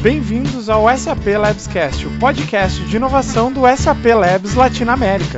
Bem-vindos ao SAP Labscast, o podcast de inovação do SAP Labs Latinoamérica.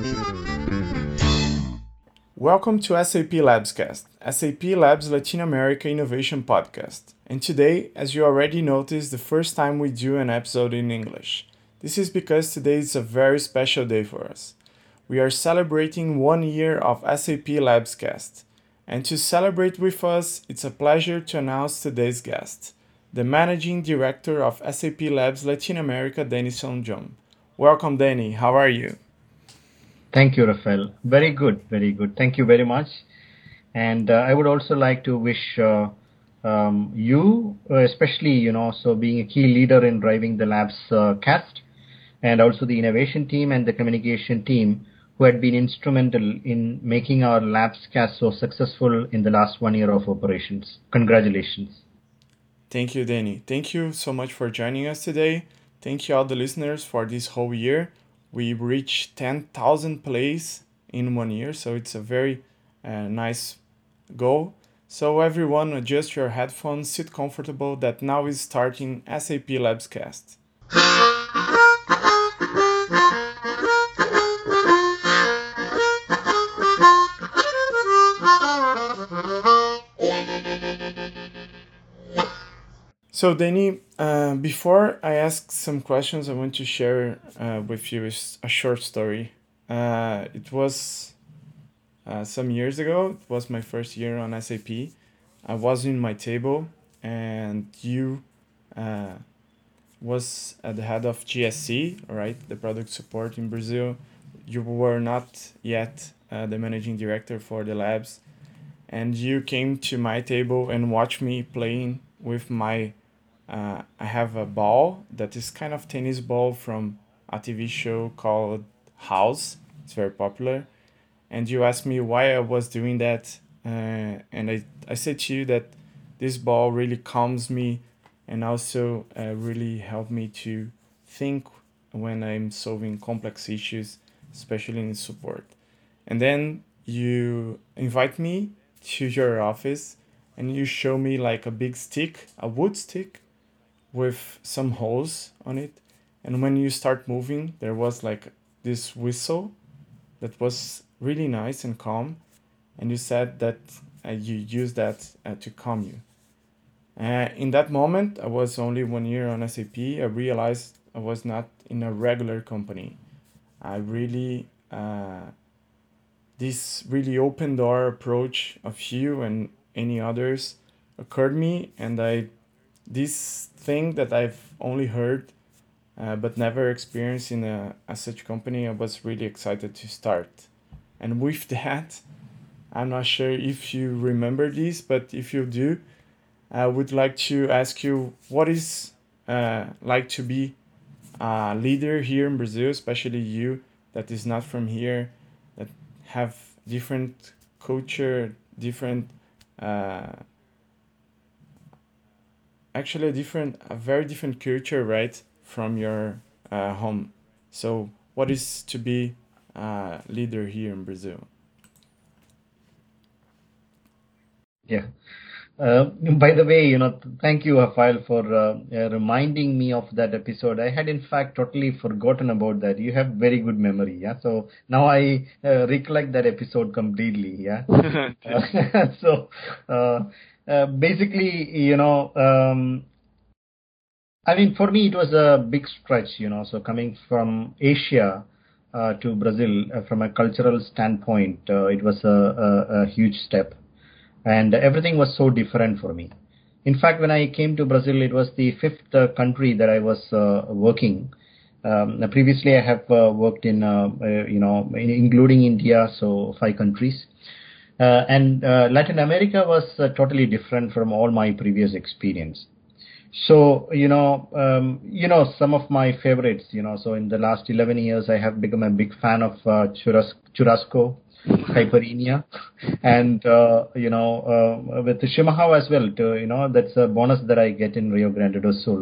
Welcome to SAP Labscast, SAP Labs Latin America Innovation Podcast. And today, as you already noticed, the first time we do an episode in English. This is because today is a very special day for us. We are celebrating 1 year of SAP Labscast. And to celebrate with us, it's a pleasure to announce today's guest, the Managing Director of SAP Labs Latin America, Denison John. Welcome, Danny. How are you? Thank you, Rafael. Very good, very good. Thank you very much. And I would also like to wish you, especially, so being a key leader in driving the Labs cast, and also the innovation team and the communication team who had been instrumental in making our Labs cast so successful in the last 1 year of operations. Congratulations. Thank you, Danny. Thank you so much for joining us today. Thank you all the listeners for this whole year. We reached 10,000 plays in 1 year, so it's a very nice goal. So everyone, adjust your headphones, sit comfortable, that now is starting SAP Labscast. So, Danny, before I ask some questions, I want to share with you a short story. It was some years ago. It was my first year on SAP. I was in my table, and you was at the head of GSC, right, the product support in Brazil. You were not yet the managing director for the labs, and you came to my table and watched me playing with my I have a ball that is kind of tennis ball from a TV show called House. It's very popular. And you asked me why I was doing that. And I said to you that this ball really calms me and also really helped me to think when I'm solving complex issues, especially in support. And then you invite me to your office and you show me like a big stick, a wood stick, with some holes on it, and when you start moving there was like this whistle that was really nice and calm, and you said that you use that to calm you. In that moment, I was only 1 year on SAP. I realized I was not in a regular company. I really this really open door approach of you and any others occurred me, and this thing that I've only heard but never experienced in a such company, I was really excited to start. And with that, I'm not sure if you remember this, but if you do, I would like to ask you what is like to be a leader here in Brazil, especially you that is not from here, that have different culture, different actually a very different culture, right, from your home. So what is to be a leader here in Brazil? Yeah. By the way, thank you, Rafael, for reminding me of that episode. I had, in fact, totally forgotten about that. You have very good memory, yeah? So now I recollect that episode completely, yeah? So basically, I mean, for me, it was a big stretch, so coming from Asia to Brazil, from a cultural standpoint, it was a huge step. And everything was so different for me. In fact, when I came to Brazil, it was the fifth country that I was working. Previously, I have worked in, including India, so 5 countries. And Latin America was totally different from all my previous experience. So, some of my favorites, so in the last 11 years, I have become a big fan of churrasco, caipirinha, and, with the Chimarrão as well, that's a bonus that I get in Rio Grande do Sul.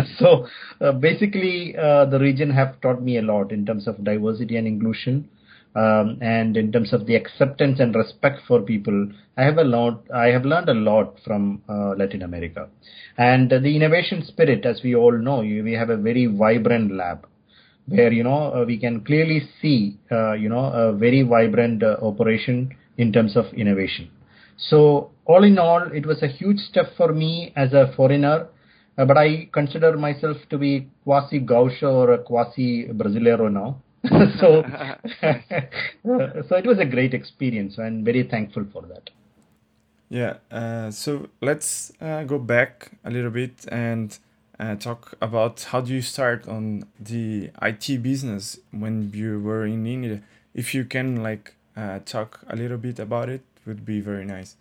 So, basically, the region have taught me a lot in terms of diversity and inclusion. And in terms of the acceptance and respect for people, I have learned a lot from Latin America, and the innovation spirit, as we all know, we have a very vibrant lab where we can clearly see a very vibrant operation in terms of innovation. So all in all, it was a huge step for me as a foreigner, but I consider myself to be quasi Gaúcho or a quasi Brasileiro now. so so it was a great experience, and very thankful for that. Yeah, so let's go back a little bit and talk about how do you start on the IT business when you were in India. If you can like talk a little bit about it, would be very nice.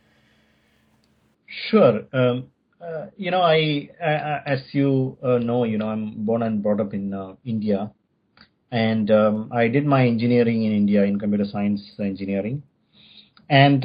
Sure. As you know, I'm born and brought up in India, and I did my engineering in India in computer science engineering. And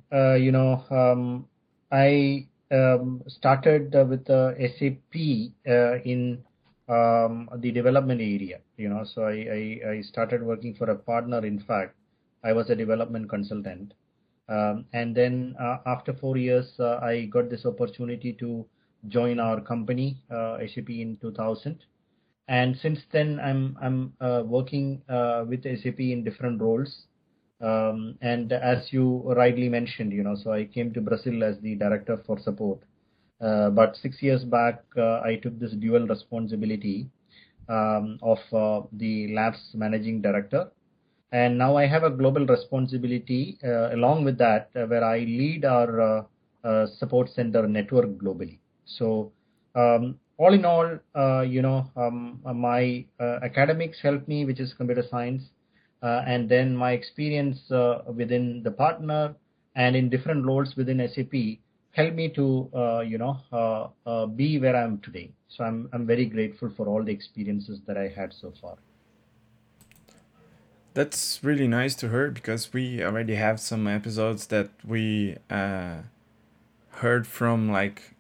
I started with SAP in the development area. So I started working for a partner. In fact, I was a development consultant. And then after 4 years, I got this opportunity to join our company, SAP, in 2000. And since then, I'm working with SAP in different roles. And as you rightly mentioned, so I came to Brazil as the director for support. But 6 years back, I took this dual responsibility of the lab's managing director. And now I have a global responsibility along with that, where I lead our support center network globally. So all in all, my academics helped me, which is computer science, and then my experience within the partner and in different roles within SAP helped me to be where I am today. So I'm very grateful for all the experiences that I had so far. That's really nice to hear because we already have some episodes that we heard from like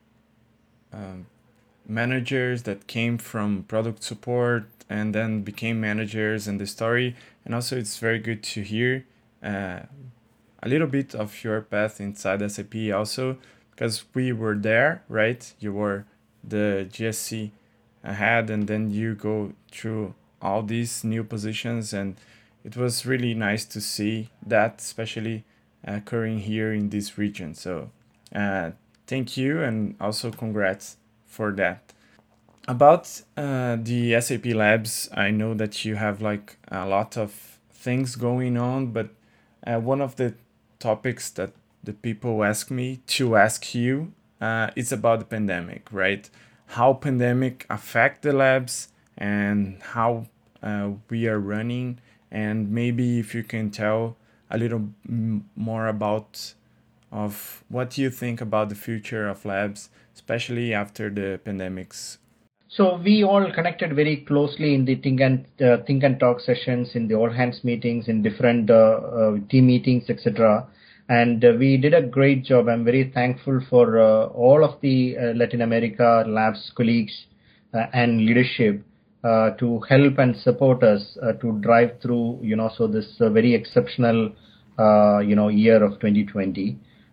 managers that came from product support and then became managers and the story. And also it's very good to hear a little bit of your path inside SAP also, because we were there, right? You were the GSC head and then you go through all these new positions, and it was really nice to see that, especially occurring here in this region. So thank you, and also congrats for that. About the SAP Labs, I know that you have like a lot of things going on, but one of the topics that the people ask me to ask you is about the pandemic, right? How pandemic affect the labs and how we are running, and maybe if you can tell a little more about of what you think about the future of labs, especially after the pandemics. So we all connected very closely in the think and talk sessions, in the all hands meetings, in different team meetings, etc. And we did a great job. I'm very thankful for all of the Latin America labs colleagues and leadership to help and support us to drive through, so this very exceptional, year of 2020.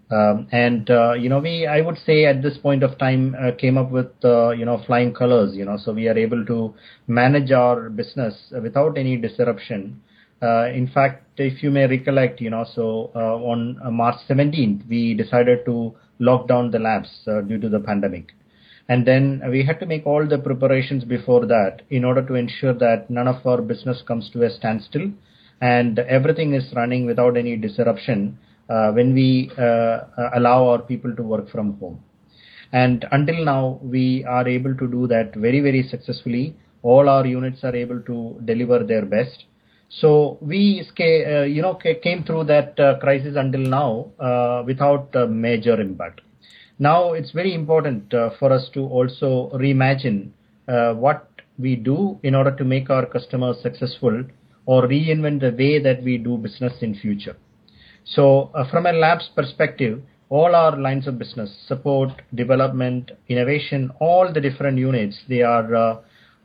I would say at this point of time came up with, flying colors, so we are able to manage our business without any disruption. In fact, if you may recollect, on March 17th, we decided to lock down the labs due to the pandemic. And then we had to make all the preparations before that in order to ensure that none of our business comes to a standstill and everything is running without any disruption when we allow our people to work from home. And until now, we are able to do that very, very successfully. All our units are able to deliver their best. So we, came through that crisis until now without a major impact. Now it's very important for us to also reimagine what we do in order to make our customers successful, or reinvent the way that we do business in future. So from a lab's perspective, all our lines of business, support, development, innovation, all the different units, they are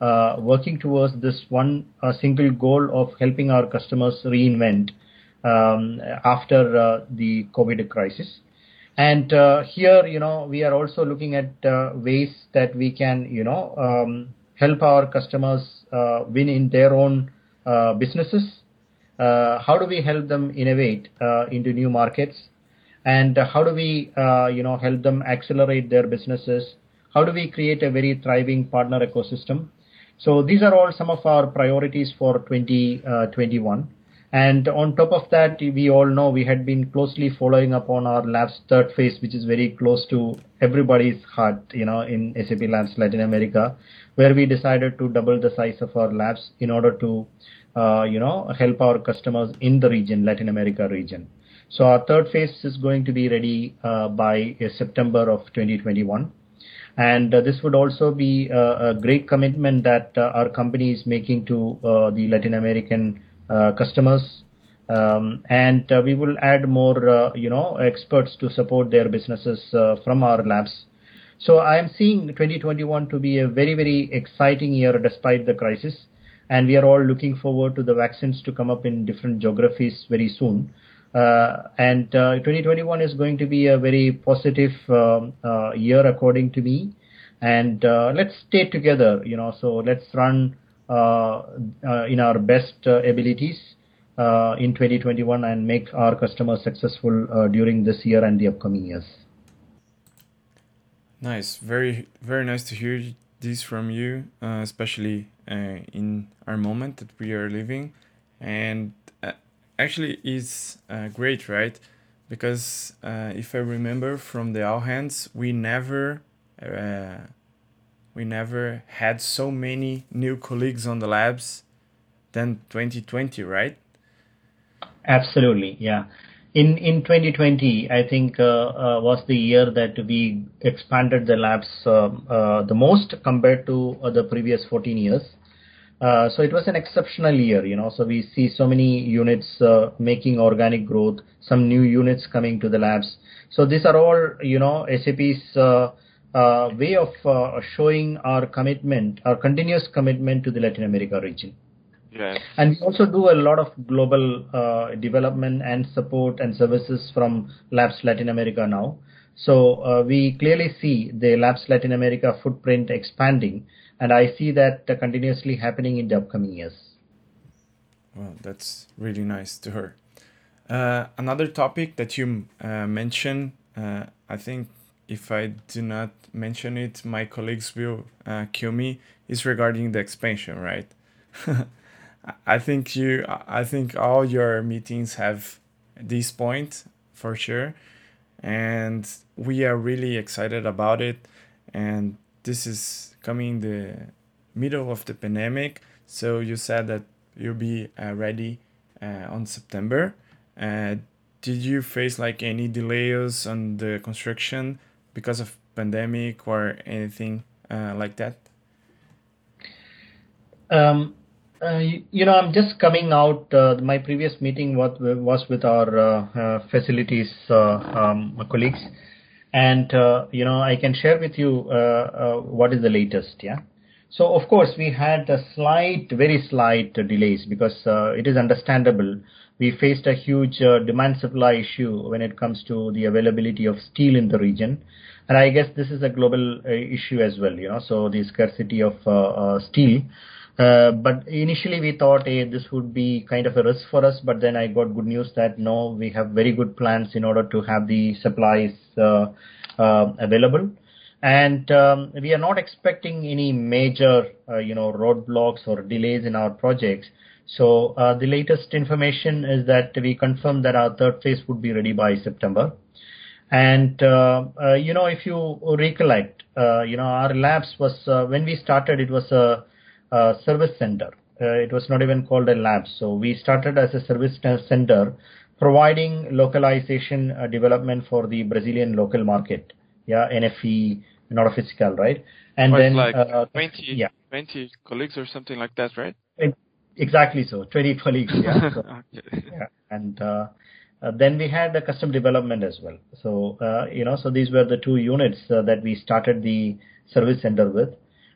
working towards this one single goal of helping our customers reinvent after the COVID crisis. And here, we are also looking at ways that we can, help our customers win in their own businesses. How do we help them innovate into new markets? And how do we, help them accelerate their businesses? How do we create a very thriving partner ecosystem? So these are all some of our priorities for 2021. And on top of that, we all know we had been closely following up on our labs third phase, which is very close to everybody's heart, in SAP Labs Latin America, where we decided to double the size of our labs in order to, help our customers in the region, Latin America region. So our third phase is going to be ready by September of 2021. And this would also be a great commitment that our company is making to the Latin American customers, and we will add more, experts to support their businesses from our labs. So I am seeing 2021 to be a very, very exciting year despite the crisis, and we are all looking forward to the vaccines to come up in different geographies very soon. And 2021 is going to be a very positive year according to me. And let's stay together, so let's run in our best abilities in 2021 and make our customers successful during this year and the upcoming years. Nice. Very, very nice to hear this from you, especially in our moment that we are living. And actually it's great, right? Because if I remember from the All Hands, we never had so many new colleagues on the labs than 2020, right? Absolutely, yeah. In 2020, I think was the year that we expanded the labs the most compared to the previous 14 years. So it was an exceptional year, so we see so many units making organic growth, some new units coming to the labs. So these are all, SAP's way of showing our commitment, our continuous commitment to the Latin America region. Yes. And we also do a lot of global development and support and services from Labs Latin America now. So we clearly see the Labs Latin America footprint expanding, and I see that continuously happening in the upcoming years. Well, that's really nice to hear. Another topic that you mentioned, I think if I do not mention it, my colleagues will kill me, is regarding the expansion, right? I think all your meetings have this point for sure, and we are really excited about it. And this is coming in the middle of the pandemic, so you said that you'll be ready on September. Did you face like any delays on the construction because of pandemic or anything like that? I'm just coming out. My previous meeting was with our facilities colleagues, and I can share with you what is the latest. Yeah. So of course we had a very slight delays because it is understandable. We faced a huge demand supply issue when it comes to the availability of steel in the region, and I guess this is a global issue as well. So the scarcity of steel. But initially we thought this would be kind of a risk for us, but then I got good news that no, we have very good plans in order to have the supplies available. And we are not expecting any major, roadblocks or delays in our projects. So the latest information is that we confirmed that our third phase would be ready by September. And, if you recollect, our labs was, when we started, it was a service center. It was not even called a lab. So we started as a service center providing localization development for the Brazilian local market. Yeah, NFE, Nota Fiscal, right? And then like 20 colleagues or something like that, right? Exactly so, 20 colleagues. Yeah. So, Okay. yeah. And then we had the custom development as well. So, so these were the two units that we started the service center with.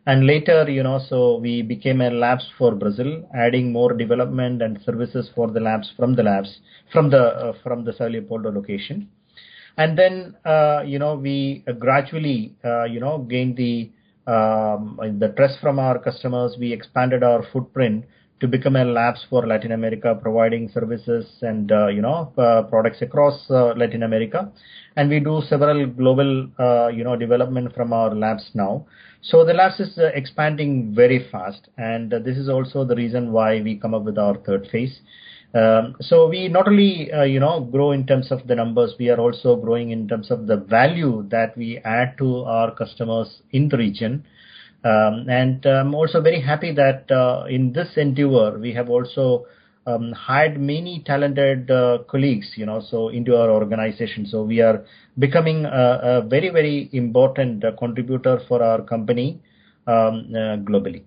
And later, so we became a labs for Brazil, adding more development and services for the labs from the Sao Leopoldo location. And then, we gradually, gained the trust from our customers. We expanded our footprint to become a labs for Latin America, providing services and, products across Latin America. And we do several global, development from our labs now. So the labs is expanding very fast. And this is also the reason why we come up with our third phase. So we not only, grow in terms of the numbers, we are also growing in terms of the value that we add to our customers in the region. And I'm also very happy that in this endeavor, we have also hired many talented colleagues, so into our organization. So we are becoming a very, very important contributor for our company globally.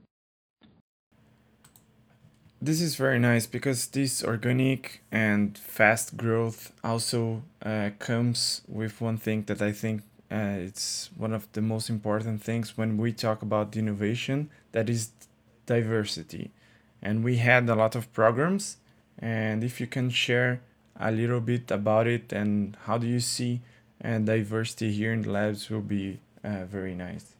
This is very nice because this organic and fast growth also comes with one thing that I think it's one of the most important things when we talk about innovation, that is diversity. And we had a lot of programs, and if you can share a little bit about it and how do you see diversity here in the labs will be very nice.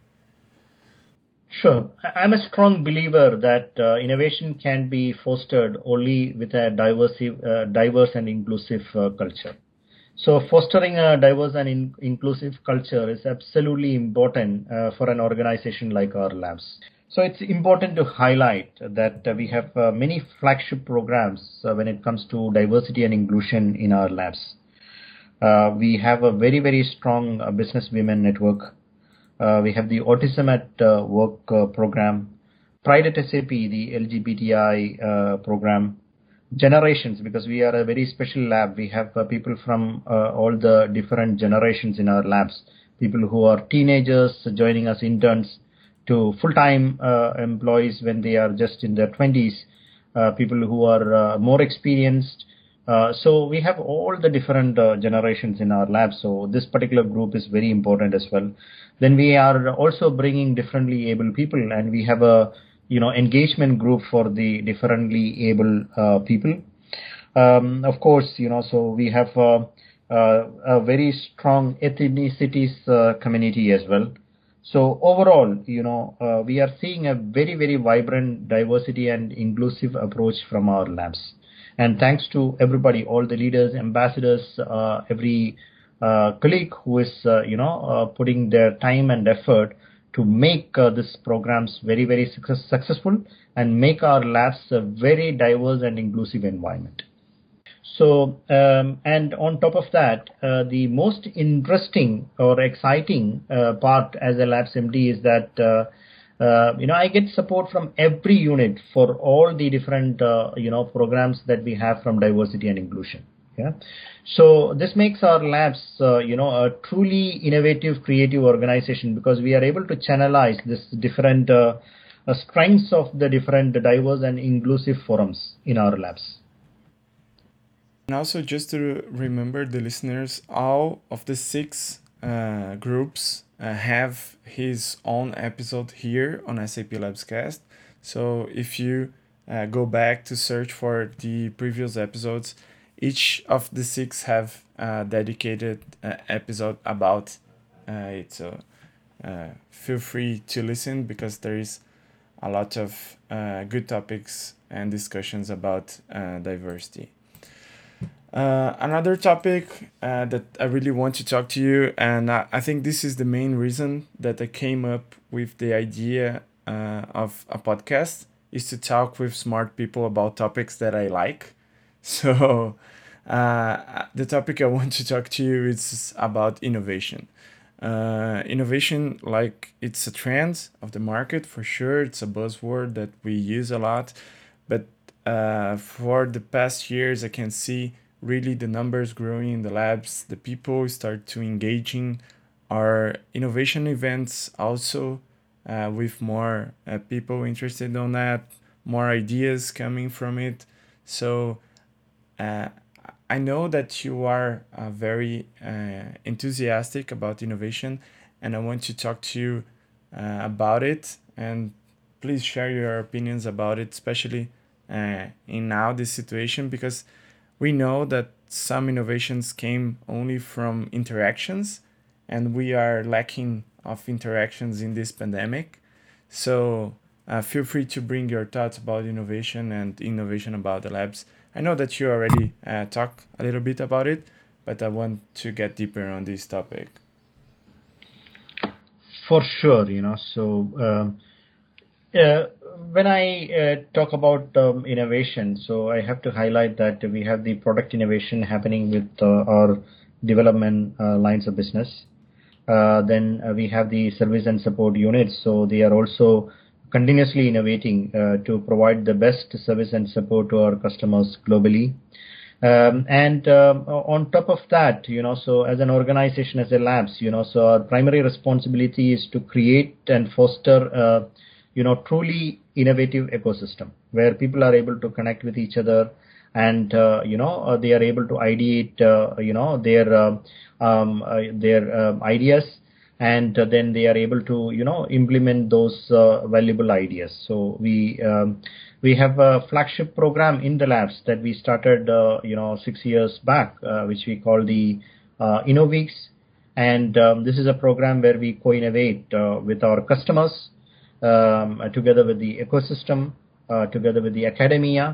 Sure. I'm a strong believer that innovation can be fostered only with a diverse and inclusive culture. So fostering a diverse and inclusive culture is absolutely important for an organization like our labs. So it's important to highlight that we have many flagship programs when it comes to diversity and inclusion in our labs. We have a very, very strong business women network. We have the Autism at Work program, Pride at SAP, the LGBTI program, generations, because we are a very special lab. We have people from all the different generations in our labs, people who are teenagers joining us interns to full-time employees when they are just in their 20s, people who are more experienced. So we have all the different generations in our lab. So this particular group is very important as well. Then we are also bringing differently able people, and we have a engagement group for the differently able people. Of course, so we have a very strong ethnicities community as well. So overall, we are seeing a very, very vibrant diversity and inclusive approach from our labs. And thanks to everybody, all the leaders, ambassadors, every colleague who is, putting their time and effort to make these programs very, very successful and make our labs a very diverse and inclusive environment. So, and on top of that, the most interesting or exciting part as a labs MD is that I get support from every unit for all the different, programs that we have from diversity and inclusion. Yeah. So this makes our labs, a truly innovative, creative organization, because we are able to channelize this different strengths of the different diverse and inclusive forums in our labs. And also, just to remember the listeners, all of the six groups have his own episode here on SAP Labscast. So if you go back to search for the previous episodes, each of the six have a dedicated episode about it. So feel free to listen, because there is a lot of good topics and discussions about diversity. Another topic that I really want to talk to you, and I think this is the main reason that I came up with the idea of a podcast, is to talk with smart people about topics that I like. So the topic I want to talk to you is about innovation. Innovation, like, it's a trend of the market for sure. It's a buzzword that we use a lot, but for the past years, I can see really the numbers growing in the labs. The people start to engaging our innovation events also, with more people interested on that, more ideas coming from it. So I know that you are very enthusiastic about innovation, and I want to talk to you about it, and please share your opinions about it, especially in now this situation, because we know that some innovations came only from interactions, and we are lacking of interactions in this pandemic. So feel free to bring your thoughts about innovation and innovation about the labs. I know that you already talked a little bit about it, but I want to get deeper on this topic. For sure, when I talk about innovation, so I have to highlight that we have the product innovation happening with our development lines of business. Then we have the service and support units, so they are also continuously innovating to provide the best service and support to our customers globally. And on top of that, so as an organization, as a labs, so our primary responsibility is to create and foster, truly innovative ecosystem where people are able to connect with each other, and they are able to ideate, their ideas, and then they are able to implement those valuable ideas. So we have a flagship program in the labs that we started 6 years back, which we call the InnoWeeks, and this is a program where we co-innovate with our customers, together with the ecosystem, together with the academia.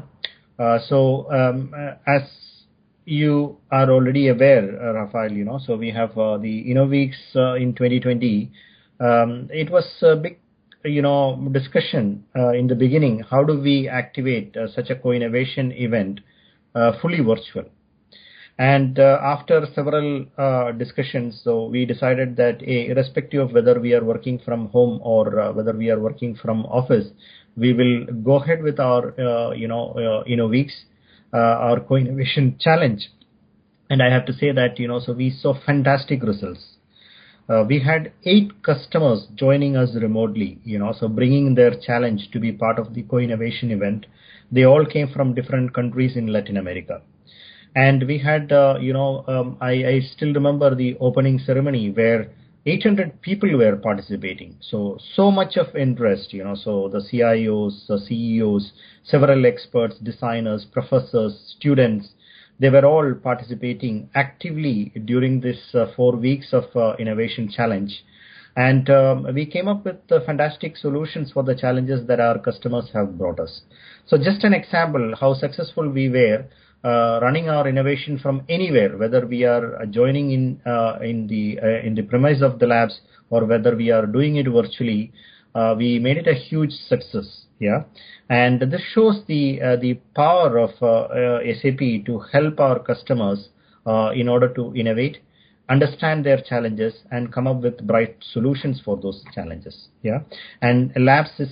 As you are already aware, Rafael, so we have the InnoWeeks in 2020. It was a big, discussion in the beginning. How do we activate such a co-innovation event fully virtual? And after several discussions, so we decided that irrespective of whether we are working from home or whether we are working from office, we will go ahead with our, InnoWeeks, our co-innovation challenge. And I have to say that, so we saw fantastic results. We had 8 customers joining us remotely, so bringing their challenge to be part of the co-innovation event. They all came from different countries in Latin America. And we had, I still remember the opening ceremony where 800 people were participating. So much of interest, so the CIOs, the CEOs, several experts, designers, professors, students, they were all participating actively during this 4 weeks of innovation challenge. And we came up with fantastic solutions for the challenges that our customers have brought us. So just an example how successful we were running our innovation from anywhere, whether we are joining in the premise of the labs or whether we are doing it virtually. We made it a huge success. Yeah, and this shows the power of SAP to help our customers in order to innovate, understand their challenges, and come up with bright solutions for those challenges. Yeah, and labs is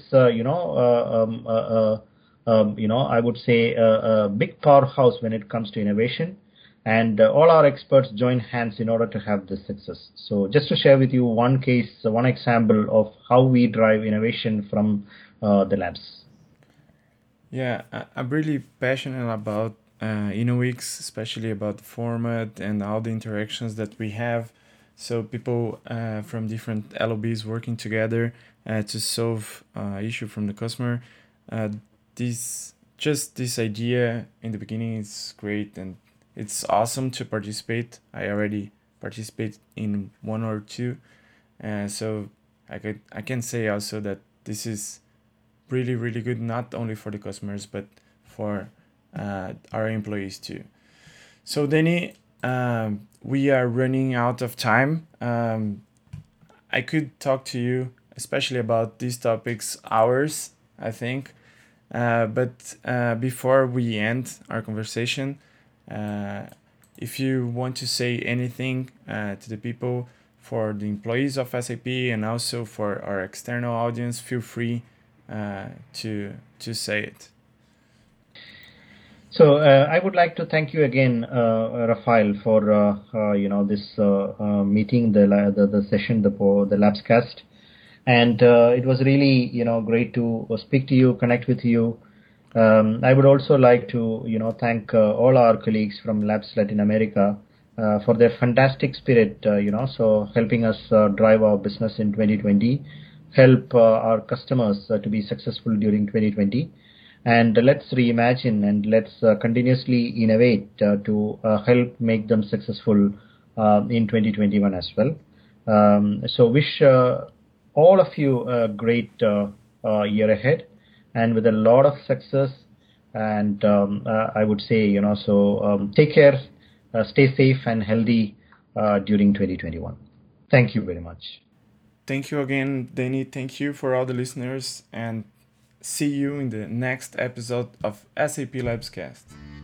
I would say a big powerhouse when it comes to innovation, and all our experts join hands in order to have this success. So just to share with you one case, one example of how we drive innovation from the labs. Yeah, I'm really passionate about InnoWeeks, especially about the format and all the interactions that we have. So people from different LOBs working together to solve issue from the customer. This idea in the beginning is great, and it's awesome to participate. I already participate in 1 or 2, so I can say also that this is really, really good, not only for the customers but for our employees too. So Danny, we are running out of time. I could talk to you especially about these topics hours, I think. But before we end our conversation, if you want to say anything to the people, for the employees of SAP and also for our external audience, feel free to say it. So I would like to thank you again, Rafael, for this meeting, the session, the Labscast. And it was really, great to speak to you, connect with you. I would also like to, thank all our colleagues from Labs Latin America for their fantastic spirit, so helping us drive our business in 2020. help our customers to be successful during 2020. And let's reimagine and let's continuously innovate to help make them successful in 2021 as well. So wish all of you a great year ahead, and with a lot of success. And I would say, take care, stay safe and healthy during 2021. Thank you very much. Thank you again, Danny. Thank you for all the listeners, and see you in the next episode of SAP Labscast.